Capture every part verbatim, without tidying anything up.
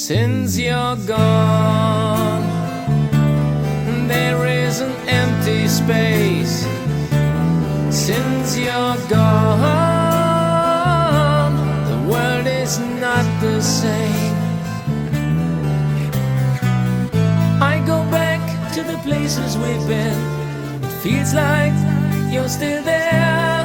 Since you're gone, there is an empty space. Since you're gone, the world is not the same. I go back to the places we've been. It feels like you're still there.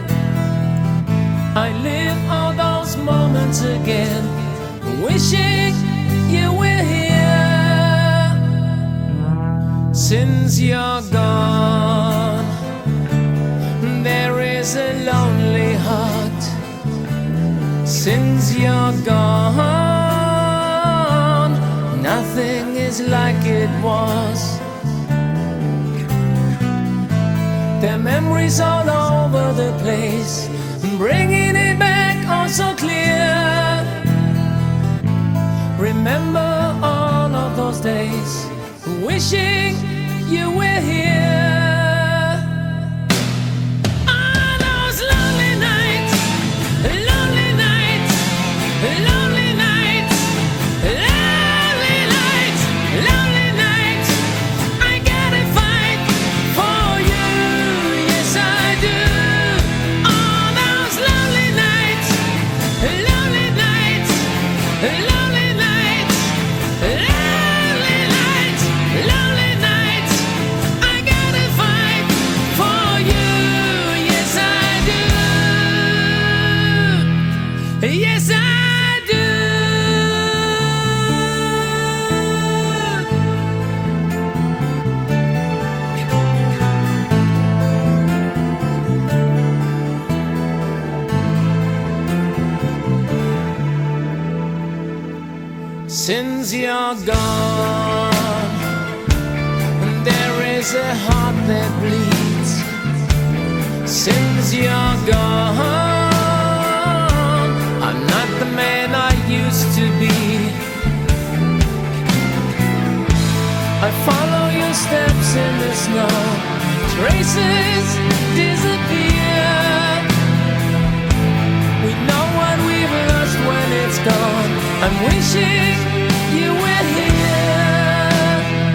I live all those moments again, wishing you were here. Since you're gone, there is a lonely heart. Since you're gone, nothing is like it was. There are memories all over the place, bringing it back all so clear. Remember all of those days, wishing you were here. All those lonely nights, lonely nights, lonely nights, lonely nights, lonely nights. I gotta fight for you, yes I do. All those lonely nights, lonely nights, lonely nights, lonely nights, lonely nights. I gotta fight for you, yes I do. Yes I do. Since you're gone, there is a heart that bleeds. Since you're gone, I'm not the man I used to be. I follow your steps in the snow, traces disappear. We know what we've lost when it's gone. I'm wishing you were here.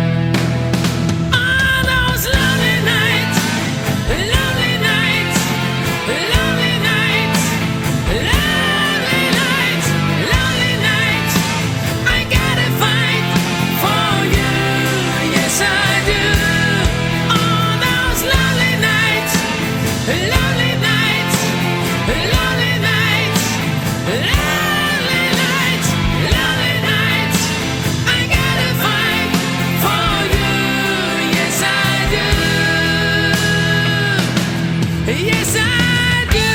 All those lonely nights, lonely nights, lonely nights, lonely nights, lonely nights. I gotta fight for you, yes I do. All those lonely nights, lonely nights, lonely nights, lonely nights, lonely nights. I gotta fight for you, yes I do. Yes I do.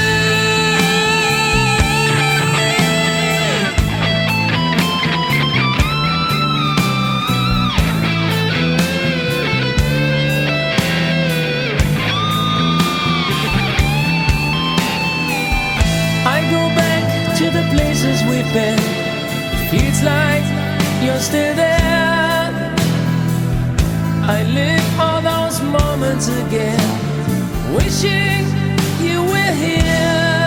I go back to the places we've been. Feels like you're still there. I live all those moments again, wishing you were here.